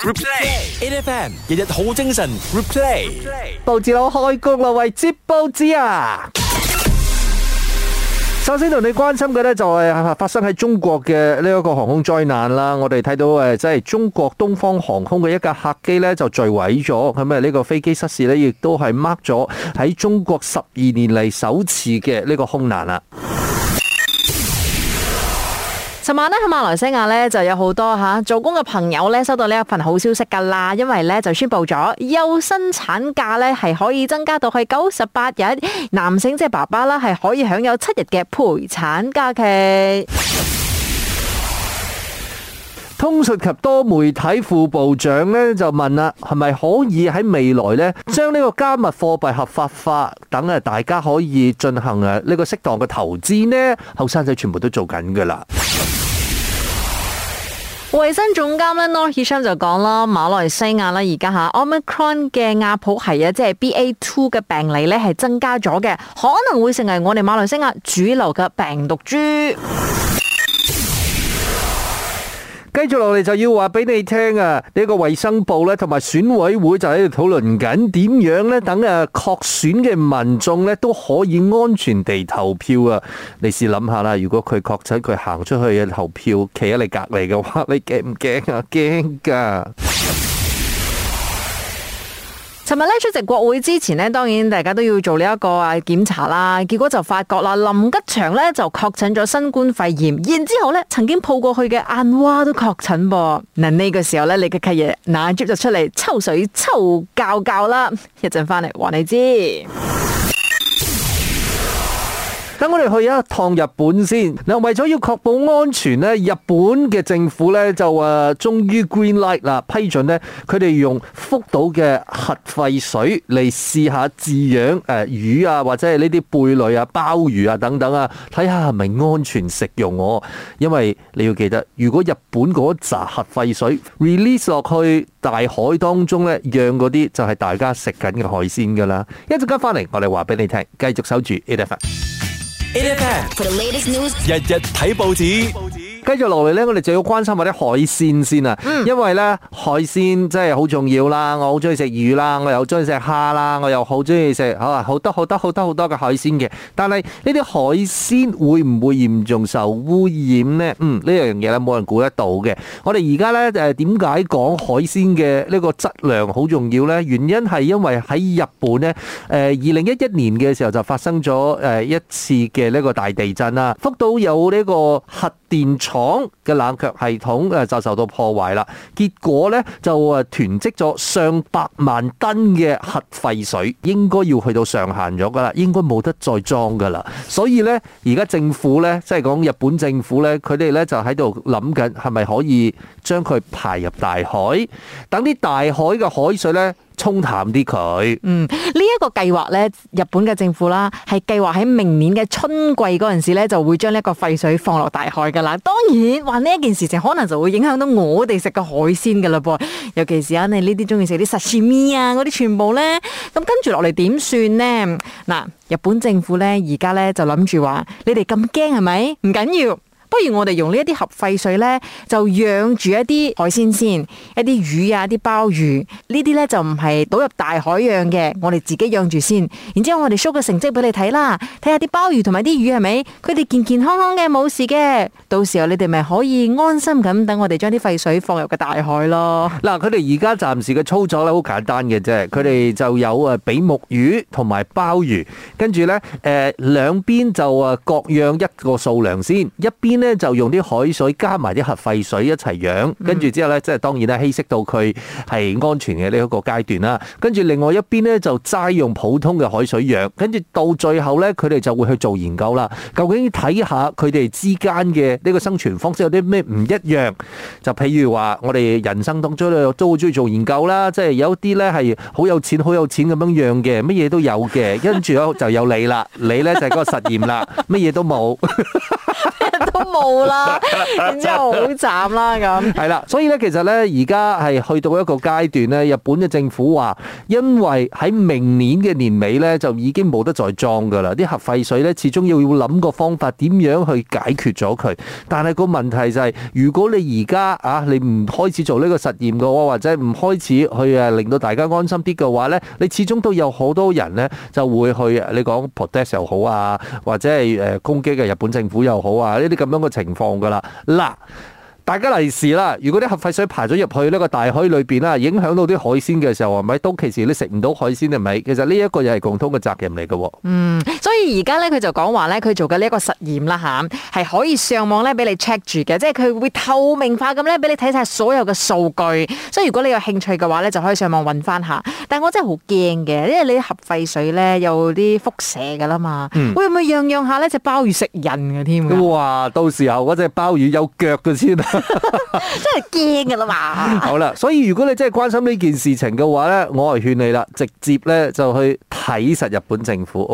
Replay，AFM 日日好精神。Replay， 報紙佬開工啦，為接報紙啊！首先同你關心嘅呢，就係發生喺中國嘅呢一個航空災難啦。我哋睇到即係中國東方航空嘅一架客機呢，就墜毀咗，咁呢個飛機失事呢，亦都係 mark 咗喺中國12年嚟首次嘅呢個空難啦。 尋晚咧喺馬來西亞咧就有好多做工嘅朋友咧收到呢一份好消息噶啦，因為咧就宣布咗有薪產假咧係可以增加到去98日，男性即係爸爸啦係可以享有7日嘅陪產假期。 通訊及多媒體副部長咧就問啦，係咪可以喺未來咧將呢個加密貨幣合法化，等大家可以進行呢個適當嘅投資呢？後生仔全部都做緊噶啦。 衛生總監咧 Noor Hisham 就講啦，馬來西亞而家Omicron 嘅亞普系即係 BA2 嘅病例咧係增加咗嘅，可能會成為我哋馬來西亞主流嘅病毒株。 繼續落嚟就要話俾你聽啊！呢個衛生部咧同埋選委會就喺度討論緊點樣咧，等確選嘅民眾咧都可以安全地投票啊！你試諗下啦，如果佢確診佢行出去投票，企喺你隔籬嘅話，你驚唔驚啊？驚噶！ 尋日咧出席國會之前呢，當然大家都要做呢一個檢查啦。結果就發覺啦，林吉祥咧就確診咗新冠肺炎，然之後咧曾經抱過去嘅安娃都確診噃。嗱，呢個時候咧，你嘅契爺那 Jib 就出嚟抽水抽教教啦。一陣翻嚟話你知。 等我哋去一趟日本先。嗱，為咗要確保安全咧，日本嘅政府咧就終於 green light 啦，批准咧佢哋用福島嘅核廢水嚟試下飼養魚啊，或者係呢啲貝類啊、鮑魚啊等等啊，睇下係咪安全食用喎。因為你要記得，如果日本嗰紮核廢水 release 落去大海當中咧，養嗰啲就係大家食緊嘅海鮮噶啦。一陣間翻嚟，我哋話俾你聽，繼續守住 AFM。日日睇報紙。 繼續落嚟呢，我哋就要關心下啲海鮮先啊，因為呢海鮮真係好重要啦。我好中意食魚啦，我又中意食蝦啦，我又好中意食好多嘅海鮮嘅。但係呢啲海鮮會唔會嚴重受污染呢？呢樣嘢咧冇人估得到嘅。我哋而家呢點解講海鮮嘅呢個質量好重要呢？原因係因為喺日本呢，2011年嘅時候就發生咗一次嘅呢個大地震啦，福島有呢個核電廠嘅冷卻系統就受到破壞啦，結果咧就囤積咗上百萬噸嘅核廢水，應該要去到上限咗噶啦，應該冇得再裝噶啦。所以咧，而家政府咧，即係講日本政府咧，佢哋咧就喺度諗緊係咪可以將佢排入大海，等啲大海嘅海水咧沖淡啲佢。 呢一個計劃咧，日本嘅政府啦，係計劃喺明年嘅春季嗰陣時咧，就會將呢一個廢水放落大海噶啦。當然，話呢一件事情可能就會影響到我哋食嘅海鮮噶啦噃，尤其是你呢啲中意食啲sashimi啊嗰啲全部咧，咁跟住落嚟點算呢？嗱，日本政府咧而家咧就諗住話，你哋咁驚係咪？唔緊要。不如我哋用呢一啲核廢水呢，就養住一啲海鮮先，一啲魚啊、啲鮑魚呢啲呢，就唔係倒入大海養嘅，我哋自己養住先。然之後我哋 show 個成績俾你睇啦，睇下啲鮑魚同埋啲魚係咪，佢哋健健康康嘅，冇事嘅。到時候你哋咪可以安心咁等我哋將啲廢水放入個大海咯。 嗱，佢哋而家暫時嘅操作咧好簡單嘅啫，佢哋就有比目魚同埋鮑魚，跟住呢兩邊就各養一個數量先，一邊咧就用啲海水加埋啲核廢水一齊養，跟住之後咧，即係當然咧稀釋到佢係安全嘅呢一個階段啦。跟住另外一邊咧就齋用普通嘅海水養，跟住到最後咧佢哋就會去做研究啦。究竟睇下佢哋之間嘅呢個生存方式有啲咩唔一樣？就譬如話我哋人生當中都好中意做研究啦，即係有啲咧係好有錢咁樣養嘅，乜嘢都有嘅，跟住就有你啦，你咧就係嗰個實驗啦，乜嘢都冇。 都冇啦，然之後好慘啦咁。 係啦，所以咧其實咧而家係去到一個階段咧，日本嘅政府話，因為喺明年嘅年尾咧就已經冇得再裝噶啦，啲核廢水咧始終要諗個方法點樣去解決咗佢。但係個問題就係，如果你而家你唔開始做呢個實驗嘅話，或者唔開始去令到大家安心啲嘅話咧，你始終都有好多人咧就會去你講 protest 又好啊，或者係攻擊嘅日本政府又好啊，呢啲咁樣嘅情況噶啦。嗱，大家利是啦，如果啲核廢水排咗入去呢個大海裏邊啦，影響到啲海鮮嘅時候，係咪到其時你食唔到海鮮係咪？其實呢一個又係共通嘅責任嚟嘅。 所以而家咧佢就講話咧，佢做嘅呢一個實驗啦吓，係可以上網咧俾你 check 住嘅，即係佢會透明化咁咧俾你睇晒所有嘅數據。所以如果你有興趣嘅話咧，就可以上網揾翻下。但係我真係好驚嘅，因為你啲核廢水咧有啲輻射噶啦嘛，會唔會樣下咧隻鮑魚食人嘅添？ 哇！到時候嗰隻鮑魚有腳嘅先。 真係驚噶啦嘛！ 好啦，所以如果你真係關心呢件事情嘅話咧，我係勸你啦，直接咧就去睇實日本政府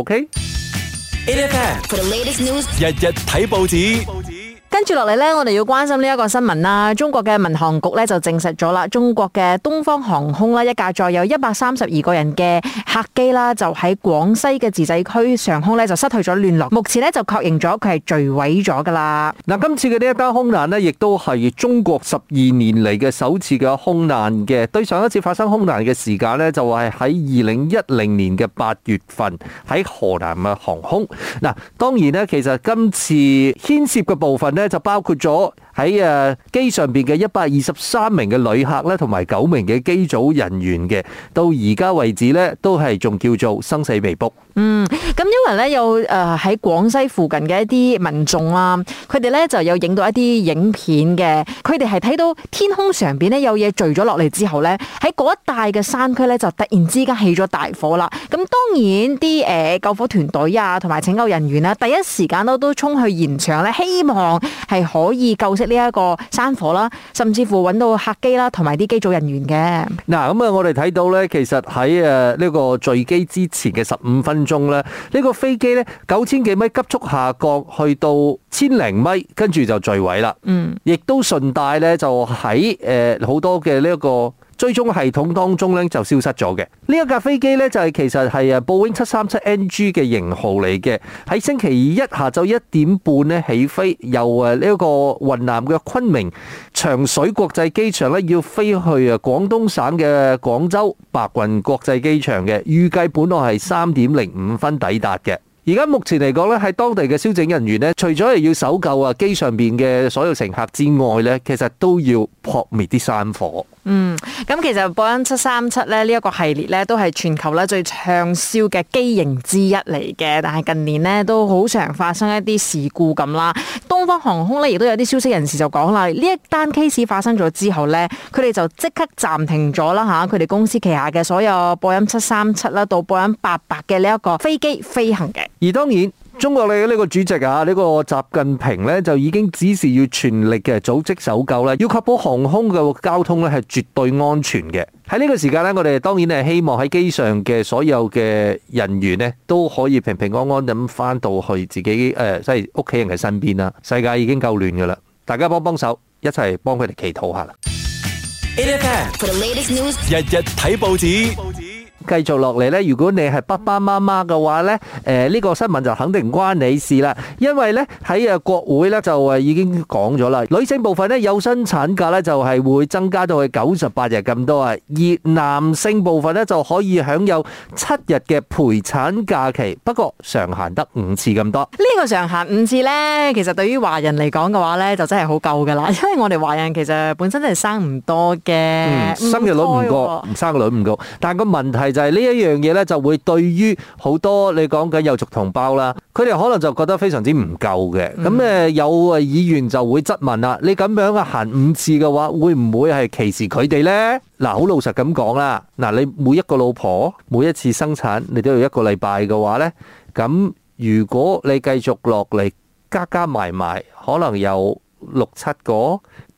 ，OK？8FM for the latest news，日日睇報紙。 跟住落嚟呢，我哋要關心呢一個新聞啦。中國嘅民航局呢就證實咗啦，中國嘅東方航空啦一架載有132個人嘅客機啦，就喺廣西嘅自治區上空呢就失去咗聯絡。目前呢就確認咗佢係墜毀咗噶啦。 嗱，今次嘅呢一單空難呢，亦都係中國12年嚟嘅首次嘅空難嘅。對上一次發生空難嘅時間呢，就係喺2010年嘅8月份喺河南嘅航空。嗱，當然呢，其實今次牽涉嘅部分呢，就包括咗喺機上邊嘅123名嘅旅客咧，同埋9名嘅機組人員嘅，到而家為止咧都係仲叫做生死未卜。 咁因為咧有喺廣西附近嘅一啲民眾啊，佢哋咧就有影到一啲影片嘅，佢哋係睇到天空上邊咧有嘢墜咗落嚟之後咧，喺嗰一帶嘅山區咧就突然之間起咗大火啦。咁當然啲救火團隊啊，同埋拯救人員啦，第一時間都衝去現場咧，希望係可以救熄呢一個山火啦，甚至乎揾到客機啦，同埋啲機組人員嘅。 嗱，咁我哋睇到咧，其實喺呢個墜機之前嘅15分鐘咧，呢個飛機咧9000幾米急速下降，去到1000零米，跟住就墜毀啦。亦都順帶咧就喺好多嘅呢一個追蹤系統當中咧就消失咗嘅。呢一架飛機咧就係其實係波音737NG 嘅型號嚟嘅，喺星期一下晝1點半咧起飛，由呢一個雲南嘅昆明長水國際機場咧要飛去廣東省嘅廣州白雲國際機場嘅，預計本來係3點05分抵達嘅。而家目前嚟講咧，喺當地嘅消拯人員咧，除咗係要搜救機上邊嘅所有乘客之外咧，其實都要撲滅啲山火。 咁其實波音737咧呢一個系列咧都係全球咧最暢銷嘅機型之一嚟嘅，但係近年咧都好常發生一啲事故咁啦。東方航空咧亦都有啲消息人士就講啦，呢一單 case 發生咗之後咧，佢哋就即刻暫停咗啦吓，佢哋公司旗下嘅所有波音737啦到波音88嘅呢一個飛機飛行嘅。 而當然，中國嘅呢個主席呢個習近平呢，就已經指示要全力嘅組織搜救啦，要確保航空嘅交通呢係絕對安全嘅。喺呢個時間呢，我哋當然係希望喺機上嘅所有嘅人員呢，都可以平平安安咁翻到去自己即係屋企人嘅身邊啦。世界已經夠亂噶啦，大家幫手，一齊幫佢哋祈禱下啦。 8FM for the latest news，日日睇報紙。 繼續落嚟咧，如果你係爸爸媽媽嘅話咧，呢個新聞就肯定唔關你事啦，因為咧喺國會咧就已經講咗啦，女性部分咧有薪產假咧就係會增加到去98日咁多啊，而男性部分咧就可以享有7日嘅陪產假期，不過上限得5次咁多。 呢個上限5次咧，其實對於華人嚟講嘅話咧，就真係好夠噶啦，因為我哋華人其實本身真係生唔多嘅， 生育率唔高，生育率唔高，但係個問題就係呢一樣嘢咧，就會對於好多你講緊有族同胞啦，佢哋可能就覺得非常之唔夠嘅。咁有議員就會質問啦，你咁樣嘅限5次嘅話，會唔會係歧視佢哋呢？嗱，好老實咁講啦，嗱，你每一個老婆每一次生產，你都要1個禮拜嘅話呢，咁如果你繼續落嚟加埋，可能有6-7個。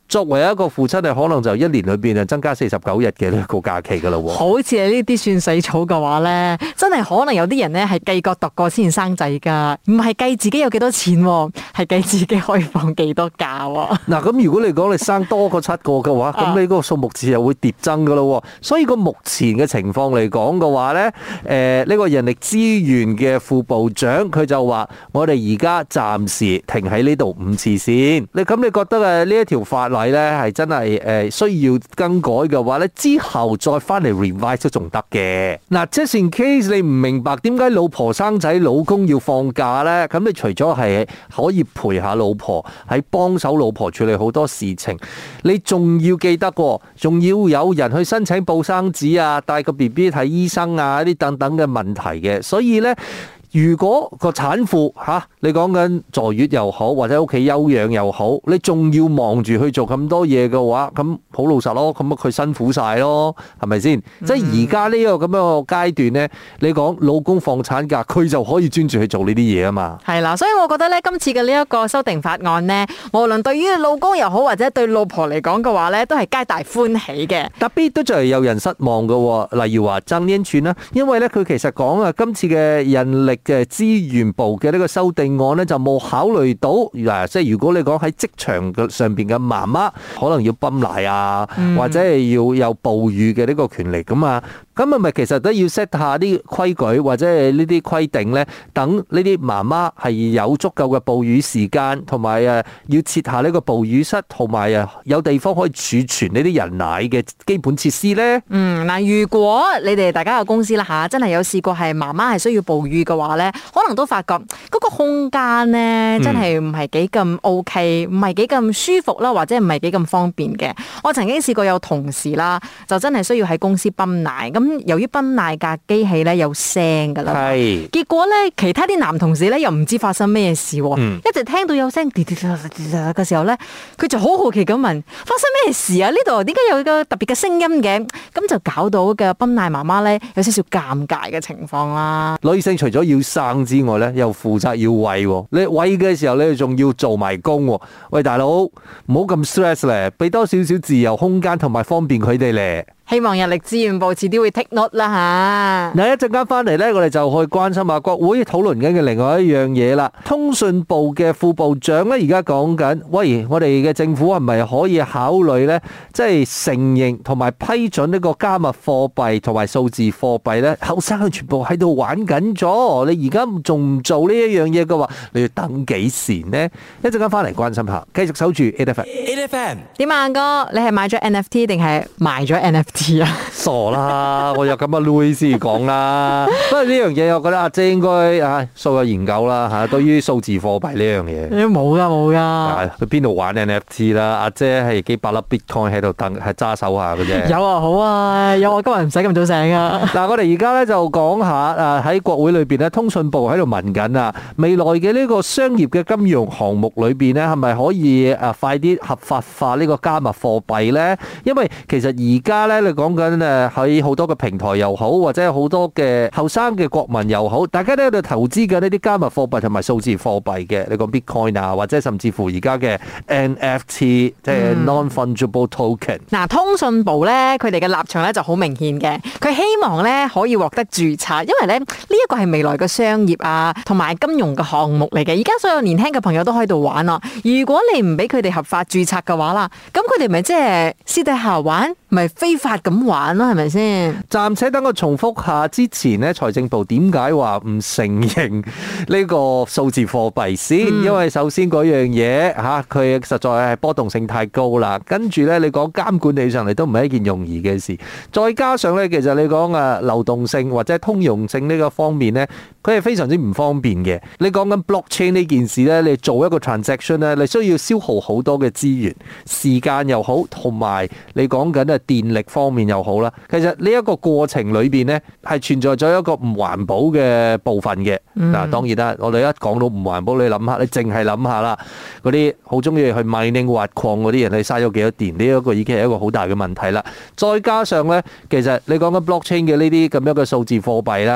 作為一個父親，你可能就一年裏邊就增加49日嘅呢個假期噶啦。 好似係呢啲算死草嘅話咧，真係可能有啲人咧係計過度過先生仔噶，唔係計自己有幾多錢，係計自己可以放幾多假。 嗱，咁如果你講你生多過7個嘅話，咁你嗰個數目字又會疊增噶咯。所以個目前嘅情況嚟講嘅話咧，呢個人力資源嘅副部長佢就話：我哋而家暫時停喺呢度5次先。你覺得呢一條法例咧係真係需要更改嘅話咧，之後再翻嚟 revise 都仲得嘅。嗱，just in case你唔明白點解老婆生仔老公要放假咧，咁你除咗係可以陪下老婆，喺幫手老婆處理好多事情，你仲要記得，仲要有人去申請報生紙啊，帶個 BB 睇醫生啊，呢啲等等嘅問題嘅。所以咧，如果個產婦你講緊坐月又好，或者屋企休養又好，你仲要忙住去做咁多嘢嘅話，咁好老實咯，咁佢辛苦晒咯，係咪先？即係而家呢個咁樣嘅階段呢，你講老公放產假，佢就可以專注去做呢啲嘢啊嘛。係啦， 所以我覺得呢，今次嘅呢一個修訂法案呢，無論對於老公又好，或者對老婆嚟講嘅話呢，都係皆大歡喜嘅。 特別都就係有人失望嘅，例如話曾蔭權啦，因為呢，佢其實講啊，今次嘅人力嘅資源部嘅呢個修訂案呢，就冇考慮到嗱，即係如果你講喺職場嘅上邊嘅媽媽可能要泵奶啊，或者係要有哺乳嘅呢個權利咁啊，咁係咪其實都要 set 下啲規矩或者係呢啲規定呢？等呢啲媽媽係有足夠嘅哺乳時間，同埋要設下呢個哺乳室，同埋有地方可以儲存呢啲人奶嘅基本設施呢？ 嗱，如果你哋大家嘅公司啦真係有試過係媽媽係需要哺乳嘅話呢，可能都發覺嗰個空間呢真係唔係幾咁 OK，唔係幾咁舒服啦，或者唔係幾咁方便嘅。我曾經試過有同事啦，就真係需要喺公司泵奶，咁由於泵奶架機器咧有聲噶啦，結果咧其他啲男同事咧又唔知發生咩事，一直聽到有聲滴滴滴嘅時候咧，佢就好好奇咁問：發生咩事啊？呢度點解有個特別嘅聲音嘅？咁就搞到嘅泵奶媽媽咧有少少尷尬嘅情況啦。 女性除咗要生之外咧，又負責要餵，你餵嘅時候咧仲要做埋工。喂，大佬唔好咁 stress 咧，俾多少少自由空間同埋方便佢哋咧。 希望人力資源部遲啲會 take note 啦吓。 嗱，一陣間翻嚟咧，我哋就去關心下國會討論緊嘅另外一樣嘢啦。通訊部嘅副部長咧，而家講緊，喂，我哋嘅政府係咪可以考慮咧，即係承認同埋批准呢個加密貨幣同埋數字貨幣咧？後生全部喺度玩緊咗，你而家仲唔做呢一樣嘢嘅話，你要等幾時呢？一陣間翻嚟關心下，繼續守住 8FM。 點啊，哥，你係買咗 NFT 定係賣咗 NFT？ 傻啦，我有咁嘅 Louis 先講啦。不過呢樣嘢，我覺得阿姐應該素有研究啦吓。對於數字貨幣呢樣嘢， 冇噶。 去邊度玩 NFT 啦？阿姐係幾百粒 Bitcoin 喺度等，係揸手下嘅啫。 有啊，好啊，有啊，今日唔使咁早醒啊。 嗱，我哋而家咧就講下喺國會裏邊咧，通訊部喺度問緊啊，未來嘅呢個商業嘅金融項目裏邊咧，係咪可以快啲合法化呢個加密貨幣咧？因為其實而家咧，你講緊喺好多嘅平台又好，或者好多嘅後生嘅國民又好，大家都喺度投資緊呢啲加密貨幣同埋數字貨幣嘅。你講 Bitcoin 啊，或者甚至乎而家嘅 NFT，即係 Non-Fungible Token。嗱， 通訊部咧，佢哋嘅立場咧就好明顯嘅，佢希望咧可以獲得註冊，因為咧呢一個係未來嘅商業啊，同埋金融嘅項目嚟嘅。而家所有年輕嘅朋友都喺度玩咯。如果你唔俾佢哋合法註冊嘅話啦，咁佢哋咪即係私底下玩，咪非法咁玩咯，係咪先？ 暫且等我重複下之前呢，財政部點解話唔承認呢個數字貨幣先？因為首先嗰樣嘢佢實在係波動性太高啦。跟住咧，你講監管起上嚟都唔係一件容易嘅事。再加上咧，其實你講流動性或者通用性呢個方面咧，佢係非常之唔方便嘅。你講緊 blockchain 呢件事咧，你做一個 transaction 咧，你需要消耗好多嘅資源、時間又好，同埋你講緊電力方面又好啦。其實呢一個過程裏邊咧，係存在咗一個唔環保嘅部分嘅。嗱，當然啦，我哋一講到唔環保，你諗下，你淨係諗下啦，嗰啲好中意去 mining 挖礦嗰啲人，你嘥咗幾多電？呢一個已經係一個好大嘅問題啦。再加上咧，其實你講緊 blockchain 嘅呢啲咁樣嘅數字貨幣啦，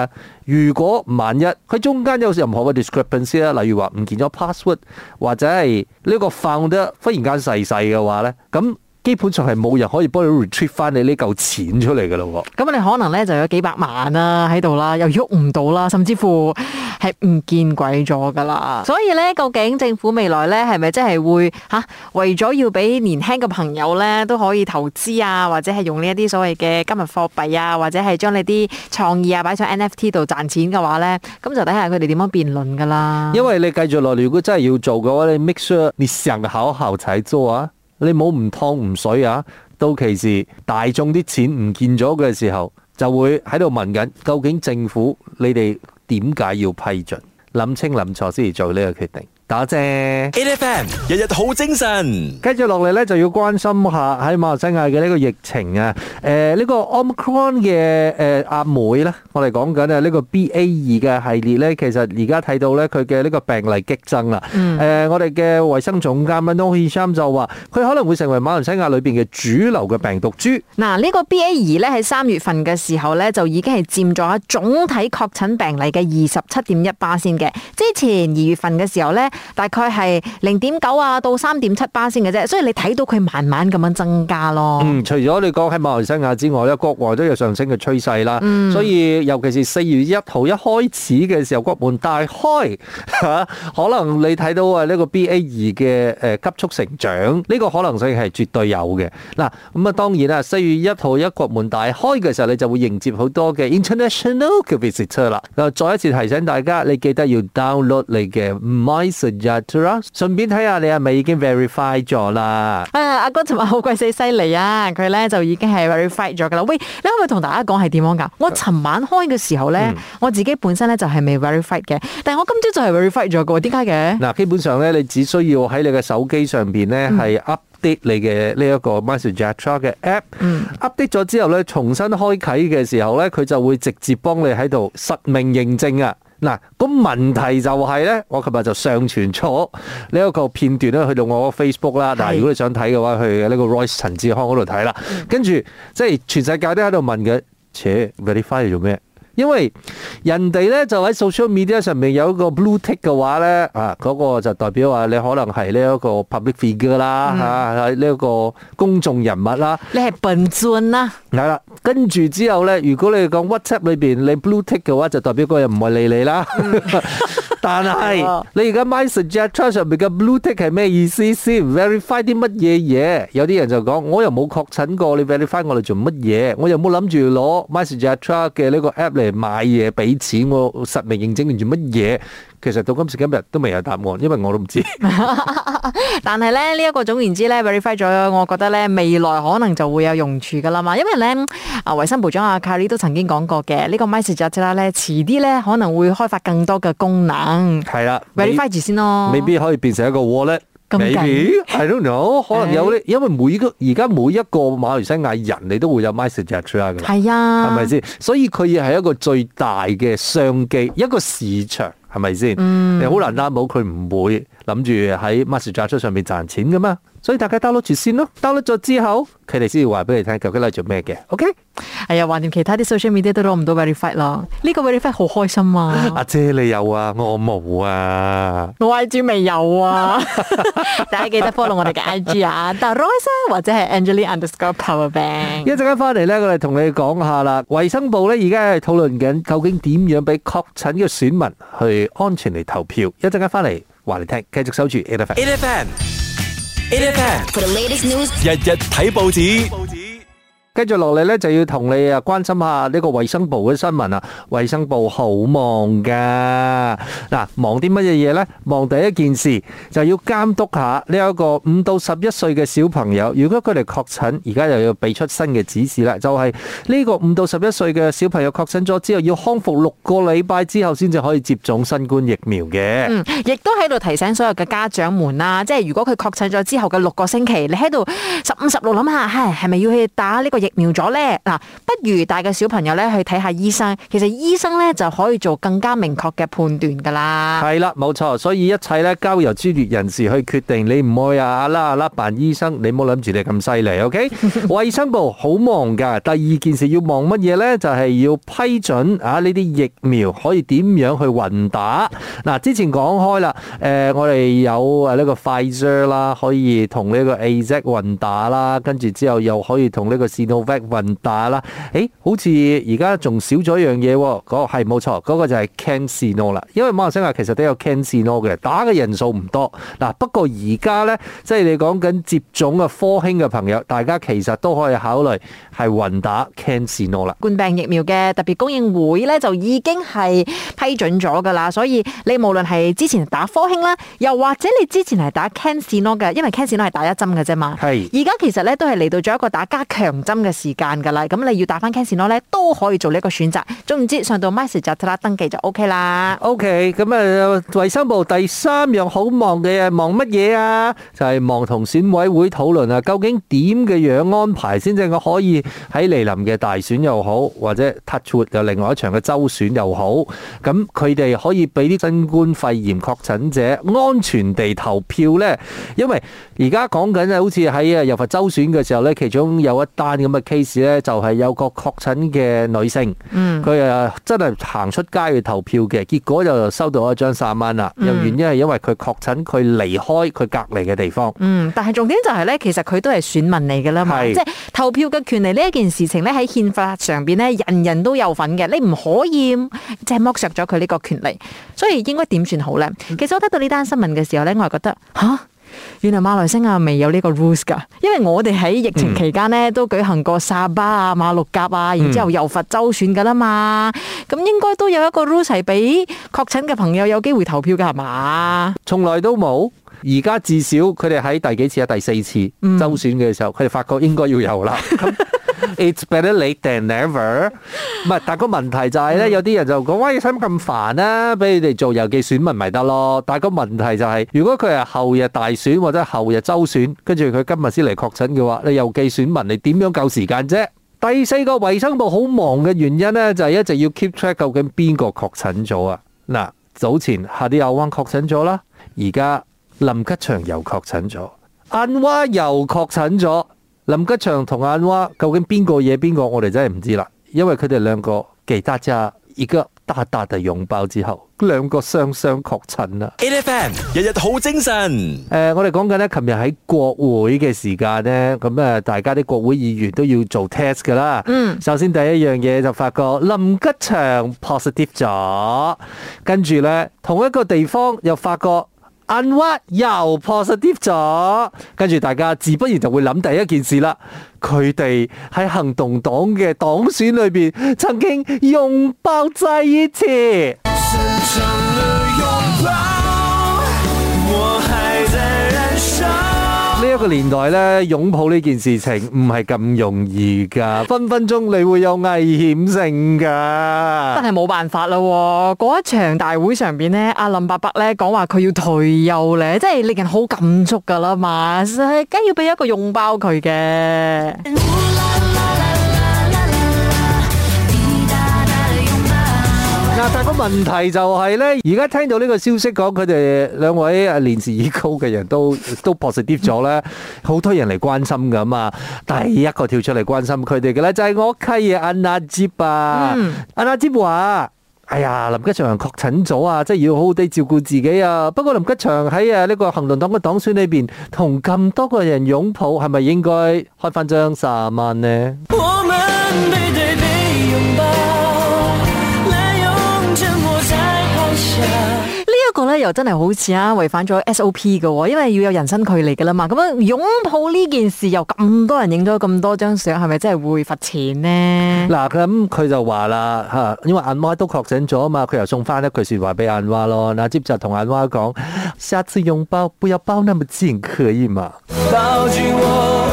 如果萬一佢中間有任何嘅 discrepancy 啦，例如話唔見咗 password 或者係呢個 founder 忽然間逝世嘅話咧，咁基本上係冇人可以幫你 retrieve 翻你呢嚿錢出嚟噶咯。 咁你可能咧就有幾百萬啦喺度啦，又喐唔到啦，甚至乎係唔見鬼咗噶啦。所以咧，究竟政府未來咧係咪真係會為咗要俾年輕嘅朋友咧都可以投資啊，或者係用呢一啲所謂嘅加密貨幣啊，或者係將你啲創意啊擺上 NFT 度賺錢嘅話咧，咁就睇下佢哋點樣辯論噶啦。 因為你繼續落嚟，如果真係要做嘅話，你 make sure 你想好好才做啊。你冇唔湯唔水啊！到其時大眾啲錢唔見咗嘅時候，就會喺度問緊，究竟政府你哋點解要批准？諗清諗錯先至做呢個決定。打謝 8FM 日日好精神。 跟住落嚟咧，就要關心下喺馬來西亞嘅呢個疫情啊。呢個 Omicron 嘅阿妹咧，我哋講緊啊呢個 BA2 嘅系列咧，其實而家睇到咧佢嘅呢個病例激增啦。我哋嘅衛生總監 Noor Hisham 就話，佢可能會成為馬來西亞裏邊嘅主流嘅病毒株。 嗱，呢個 BA2 咧喺3月份嘅時候咧，就已經係佔咗總體確診病例嘅27.1%嘅。之前2月份嘅時候咧，大概係0.9啊到3.7%嘅啫，所以你睇到佢慢慢咁樣增加咯。 除咗你講喺馬來西亞之外咧，國外都有上升嘅趨勢啦。所以尤其是4月1號一開始嘅時候，國門大開可能你睇到啊呢個 BA2 嘅急速成長，呢個可能性係絕對有嘅。嗱，咁啊當然啦，4月1號一國門大開嘅時候，你就會迎接好多嘅 international 嘅 visitor 啦。再一次提醒大家，你記得要 download 你嘅 MySejahtera，順便睇下你係咪已經 verify 咗啦。 阿哥尋日好鬼死犀利啊！佢咧就已經係 verify 咗噶啦。喂，你可唔可以同大家講係點樣噶？我尋晚開嘅時候咧，我自己本身咧就係未 verify 嘅，但係我今朝就係 verify 咗嘅。點解嘅？嗱， 基本上咧，你只需要喺你嘅手機上邊咧係 update 你嘅呢一個 MySejahtera 嘅 app，update 咗之後咧，重新開啟嘅時候咧，佢就會直接幫你喺度實名認證啊！嗱，咁問題就係咧，我琴日就上傳咗呢一個片段咧，去到我個 Facebook 啦。但係如果你想睇嘅話，去呢個 Royce 陳志康嗰度睇啦。跟住即係全世界都喺度問嘅，verify 做咩？因為人哋咧就喺 social media 上面有一個 blue tick 嘅話咧，嗰個就代表話你可能係呢一個 public figure 啦，係呢一個公眾人物啦。你係笨鑽啦。係啦，跟住之後咧，如果你講 WhatsApp 裏邊你 blue tick 嘅話，就代表嗰人唔係你啦。但係你而家 MySejahtera 上面嘅 blue tick 係咩意思先 ？verify 啲乜嘢嘢？有啲人就講，我又冇確診過，你 verify 我嚟做乜嘢？我又冇諗住攞 MySejahtera 嘅呢個 app 嚟買嘢俾錢，我實名認證做乜嘢？其實到今時今日都未有答案，因為我都唔知。 但係咧，呢一個總言之咧 verify 咗，我覺得咧未來可能就會有用處噶啦嘛。因為咧，衛生部長阿 Khairy 都曾經講過嘅，呢個 MySejahtera 咧遲啲咧可能會開發更多嘅功能。係啦 ，verify 住先咯。未必可以變成一個 wallet。Maybe，I don't know， 可能有咧，因為而家每一個馬來西亞人你都會有 MySejahtera 㗎。係啊，係咪先？所以佢亦係一個最大嘅商機，一個市場。係咪先？你好難擔保佢唔會諗住喺 MySejahtera 上面賺錢噶嘛？所以大家 download 住先咯。download 咗之後，佢哋先要話俾你聽究竟係做咩嘅。OK？係啊，橫掂其他啲 social media 都攞唔到 verify 咯。呢個 verify 好開心啊！ 阿姐你有啊，我冇啊。 我 IG 未有啊。大家記得 follow 我哋嘅 IG 啊 ，Royce 或者係 Angeline_Powerbank。一陣間翻嚟咧，我哋同你講下啦。衛生部咧而家係討論緊究竟點樣俾確診嘅選民去安全嚟投票。一陣間翻嚟話你聽，繼續守住 8FM。8FM for the latest news， 日日睇報紙。 跟住落嚟咧，就要同你關心下呢個衛生部嘅新聞啊！衛生部好忙噶，嗱，忙啲乜嘢嘢咧？忙第一件事就要監督下呢一個5到11歲嘅小朋友，如果佢哋確診，而家又要俾出新嘅指示啦，就係呢個5到11歲嘅小朋友確診咗之後，要康復6個禮拜之後先至可以接種新冠疫苗嘅。 亦都喺度提醒所有嘅家長們啦，即係如果佢確診咗之後嘅6個星期，你喺度15、16諗下，係咪要去打呢個疫苗咗咧？嗱，不如帶個小朋友咧去睇下醫生。其實醫生咧就可以做更加明確嘅判斷噶啦。 係啦，冇錯，所以一切咧交由專業人士去決定。你唔愛阿啦扮醫生，你唔好諗住你咁犀利，OK？ 衛生部好忙噶。第二件事要忙乜嘢咧？就係要批准呢啲疫苗可以點樣去混打。嗱，之前講開啦，我哋有呢個 Pfizer 啦，可以同呢個 AZ 混打啦，跟住之後又可以同呢個 Sinovac 混打啦。好似而家仲少咗一樣嘢，嗰係冇錯，嗰個就係 CanSino 啦。因為馬來西亞其實都有 CanSino 嘅，打嘅人數唔多。嗱，不過而家咧，即係你講緊接種嘅科興嘅朋友，大家其實都可以考慮係混打 CanSino 啦。 冠病疫苗嘅特別供應會咧就已經係批准咗噶啦，所以你無論係之前打科興啦，又或者你之前係打 CanSino 嘅，因為 CanSino 係打一針嘅啫嘛。係。而家其實咧都係嚟到咗一個打加強針嘅時間噶啦，咁你要打翻 CanSino 咧都可以做呢一個選擇。總言之，上到 MySejahtera 登記就 OK 啦。 OK， 咁衛生部第三樣好忙嘅忙乜嘢啊？就係忙同選委會討論啊，究竟點嘅樣安排先至可以喺嚟臨嘅大選又好，或者 touch wood 有另外一場嘅州選又好，咁佢哋可以俾啲新冠肺炎確診者安全地投票呢？因為而家講緊好似喺柔佛州選嘅時候呢，其中有一單咁嘅 case 呢，就係有個確診嘅女性，佢真係行出街去投票嘅，結果就收到一張3蚊啦。又原因係因為佢確診，佢離開佢隔離嘅地方。 但係重點就係呢，其實佢都係選民嚟㗎啦嘛，即係投票嘅權利呢一件事情呢，喺憲法上邊呢，人人都有份嘅，你唔可以即係剝削咗佢呢個權利，所以應該點算好呢？其實我睇到呢單新聞嘅時候呢，我係覺得原來馬來西亞未有呢個 rules 㗎，因為我哋喺疫情期間呢，都舉行過沙巴啊、馬六甲啊，然之後柔佛州選㗎啦嘛，咁應該都有一個 rules 係俾確診嘅朋友有機會投票㗎係嘛？ 從來都冇。而家至少佢哋喺第幾次啊？第4次州選嘅時候，佢哋發覺應該要有啦。It's better late than never。唔係，但個問題就係咧，有啲人就講：喂，使乜咁煩啊？俾你哋做郵寄選民咪得咯。但個問題就係，如果佢係後日大選或者後日州選，跟住佢今日先嚟確診嘅話，你郵寄選民你點樣夠時間啫？第4個衛生部好忙嘅原因咧，就係一直要 keep track 究竟邊個確診咗啊？嗱，早前哈迪亞灣確診咗啦，而家林吉祥又確診咗，安娃又確診咗。林吉祥同安娃究竟邊個嘢邊個，我哋真係唔知啦。因為佢哋兩個給大家一個大大嘅擁抱之後，兩個雙雙確診啦。 8FM 日日好精神。 我哋講緊咧，琴日喺國會嘅時間咧，咁大家啲國會議員都要做 test 噶啦。首先第一樣嘢就發覺林吉祥 positive 咗，跟住咧同一個地方又發覺安娃又 positive 咗，跟住大家自不然就會諗第一件事啦。佢哋喺行動黨嘅黨選裏邊曾經擁抱在一起。呢一個年代咧，擁抱呢件事情唔係咁容易噶，分分鐘你會有危險性噶。 真係冇辦法啦，嗰一場大會上邊咧，阿林伯伯咧講話佢要退休咧，真係令人好感觸噶啦嘛，梗要俾一個擁抱佢嘅。 但個問題就係咧，而家聽到呢個消息講佢哋兩位年事已高嘅人都 positive 咗咧，好多人嚟關心噶嘛。第一個跳出嚟關心佢哋嘅咧，就係我契爺阿納吉啊。阿納吉話：哎呀，林吉祥確診咗啊，即係要好好地照顧自己啊。不過林吉祥喺呢個行動黨嘅黨選裏邊，同咁多個人擁抱，係咪應該開翻張30萬呢？我們背對背擁抱。 呢個咧又真係好似違反咗 SOP 嘅，因為要有人身距離嘅啦嘛。咁樣擁抱呢件事又咁多人影咗咁多張相，係咪真係會罰錢呢？ 嗱，咁佢就話啦吓，因為安娃都確診咗啊嘛，佢又送翻一句說話俾安娃咯。嗱，接就同安娃講：下次擁抱不要抱那麼近，可以嘛？抱住我，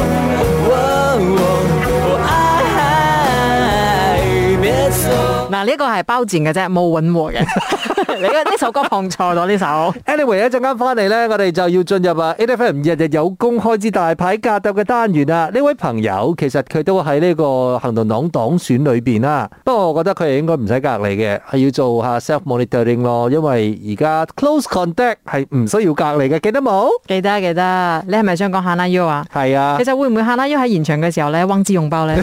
嗱，呢個係包賤嘅啫，冇穩和嘅。 你呢首歌放錯咗呢首。 Anyway， 一陣間翻嚟咧，我哋就要進入8FM 日日有工開支大牌格鬥嘅單元啦。呢位朋友其實佢都喺呢個行動黨黨選裏邊啦，不過我覺得佢哋應該唔使隔離嘅，係要做下 self monitoring 咯，因為而家 close contact 係唔需要隔離嘅，記得冇？記得。 你係咪想講 Hana U 啊？ 係啊。 其實會唔會 Hana U 喺現場嘅時候咧，忘記擁抱咧？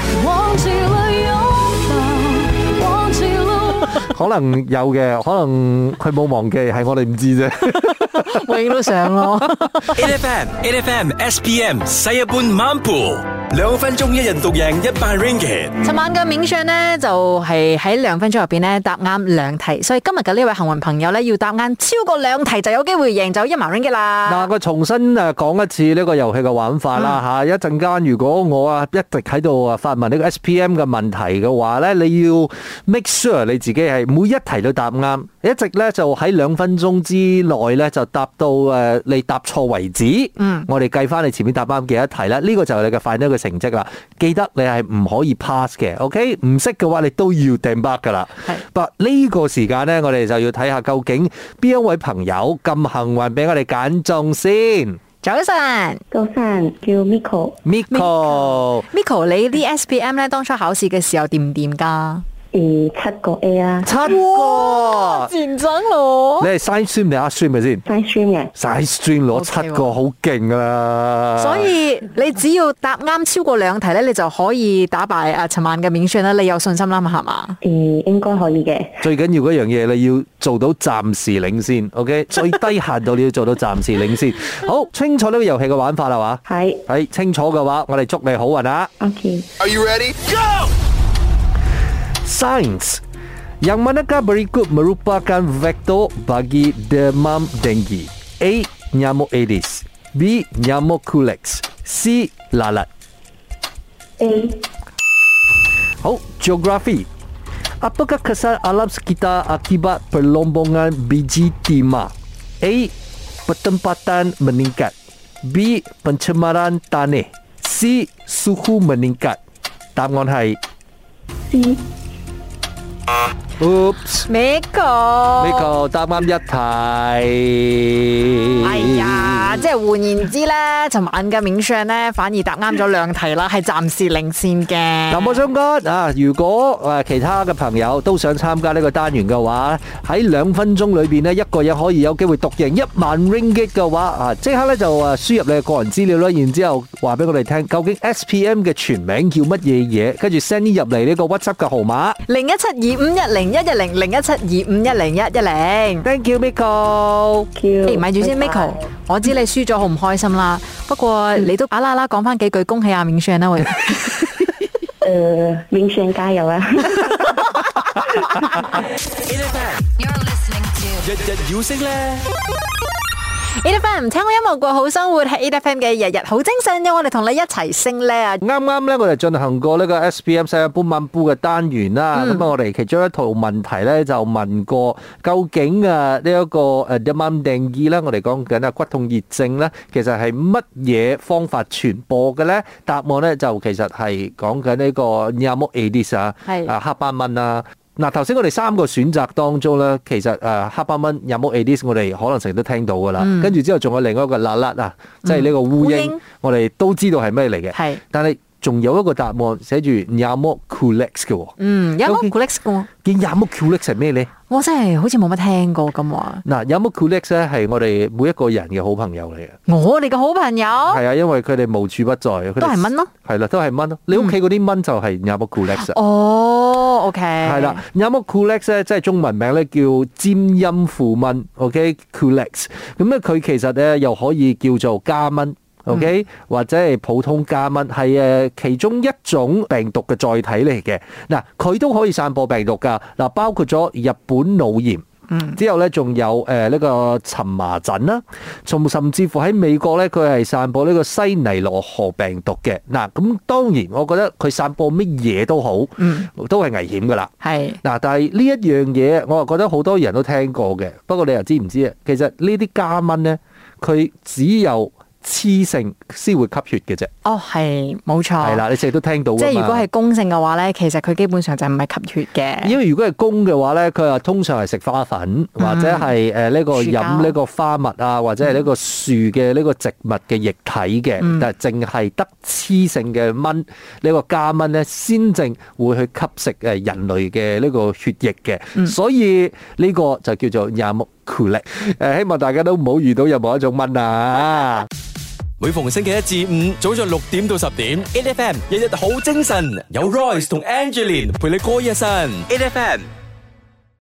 可能有嘅，可能佢冇忘記，係我哋唔知啫。 永遠都想咯。 8FM SPM 西一般晚蒲，2分鐘一人獨贏100 ringgit。 尋晚嘅冥想呢，就係喺2分鐘入邊呢答啱2題，所以今日嘅呢位幸運朋友呢，要答啱超過2題就有機會贏走100 ringgit啦。 嗱，我重新講一次呢個遊戲嘅玩法啦吓，一陣間如果我一直喺度發問呢個 SPM 嘅問題嘅話呢，你要 make sure 你自己係每一題都答啱，一直呢就喺2分鐘之內呢就答到你答錯為止。我哋計翻你前面答啱幾多題啦，呢個就係你嘅final嘅成績啦。記得你係唔可以 pass 嘅 ，OK？ 唔識嘅話你都要掟 back 噶啦。不過呢個時間呢，我哋就要睇下究竟邊一位朋友咁幸運俾我哋揀中先。 早晨， 叫 Miko。 你啲 SPM 咧當初考試嘅時候掂唔掂噶 7個 A 啦 ，7個， 前長咯。 你係 science stream 定 art stream 嘅先 ？science stream 嘅 ，science stream 攞7個好勁噶啦。 所以你只要答啱超過2題咧，你就可以打敗尋晚嘅冥選啦。你有信心啦嘛？係嘛？ 應該可以嘅。 最緊要嗰樣嘢，你要做到暫時領先 ，OK？ 最低限度你要做到暫時領先。好，清楚呢個遊戲嘅玩法啦嘛？係清楚嘅話，我哋祝你好運啊 ！OK。Are you ready? Go！Science, yang manakah berikut merupakan vektor bagi demam denggi? A. Nyamuk Aedes, B. Nyamuk Culex, C. Lalat. A. 好， Geografi. Apakah kesan alam sekitar akibat perlombongan biji timah? A. Pertempatan meningkat, B. Pencemaran tanah, C. Suhu meningkat. 答案係 C。 Miko 答啱1題。 哎呀，即係換言之咧，尋晚嘅冥想咧，反而答啱咗2題啦，係暫時領先嘅。 嗱，我想講啊，如果其他嘅朋友都想參加呢個單元嘅話，喺2分鐘裏邊呢，一個人可以有機會獨贏10000 ringgit 嘅話，啊，即刻咧就輸入你嘅個人資料啦，然之後話俾我哋聽，究竟 SPM 嘅全名叫乜嘢嘢，跟住 send 入嚟呢個 WhatsApp 嘅號碼0172510110，0172510110。Thank you, Miko。 咪住先 ，Miko， 我知你輸咗好唔開心啦，不過你都啦啦講翻幾句恭喜阿明炫啦，喂。 明炫加油啊！ 日日要升咧。 8FM 聽我音樂過好生活，係 8FM 嘅日日好精神，有我哋同你一齊升咧啊！ 啱啱咧，我哋進行過呢個 SPM 西一般晚蒲嘅單元啦。咁我哋其中一套問題咧就問過，究竟呢一個demam dengue啦，我哋講緊骨痛熱症咧，其實係乜嘢方法傳播嘅咧？答案咧就其實係講緊呢個 Nyamuk Aedes 啊，黑斑蚊啊。嗱，頭先我哋3個選擇當中咧，其實黑斑蚊、Nyamuk Aedes 我哋可能成日都聽到噶啦，跟住之後仲有另外一個Lalat啊，即係呢個烏蠅，我哋都知道係咩嚟嘅，但係仲有一個答案寫住 Nyamuk Culex 嘅喎。 Nyamuk Culex 嘅。 Nyamuk Culex 係咩咧？ 我真係好似冇乜聽過咁話。 嗱，Nyamuk Culex 咧係我哋每一個人嘅好朋友嚟嘅。 我哋嘅好朋友。係啊，因為佢哋無處不在。 都係蚊咯。係啦，都係蚊咯。你屋企嗰啲蚊就係 Nyamuk Culex。 哦，OK。係啦，Nyamuk Culex 咧，即係中文名咧叫尖陰附蚊 ，OK，Culex。咁咧佢其實咧又可以叫做家蚊。OK，或者係普通家蚊，係其中一種病毒嘅載體嚟嘅。嗱，佢都可以散播病毒㗎。嗱，包括咗日本腦炎，之後咧仲有呢個蕁麻疹啦，甚至乎喺美國咧佢係散播呢個西尼羅河病毒嘅。嗱，咁當然我覺得佢散播乜嘢都好，都係危險㗎啦。係嗱，但係呢一樣嘢，我又覺得好多人都聽過嘅。不過你又知唔知啊？其實呢啲家蚊咧，佢只有雌性先會吸血嘅啫。 哦，係冇錯。 係啦，你成日都聽到㗎嘛。 即係如果係公性嘅話咧，其實佢基本上就唔係吸血嘅。 因為如果係公嘅話咧，佢話通常係食花粉，或者係呢個飲呢個花蜜啊，或者係呢個樹嘅呢個植物嘅液體嘅，但係淨係得雌性嘅蚊呢個家蚊咧，先正會去吸食人類嘅呢個血液嘅，所以呢個就叫做亞目酷力。希望大家都唔好遇到任何一種蚊啊！ 每逢星期一至五早上6點到10點 ，8FM 日日好精神，有 Royce 同 Angeline 陪你過一晨 ，8FM。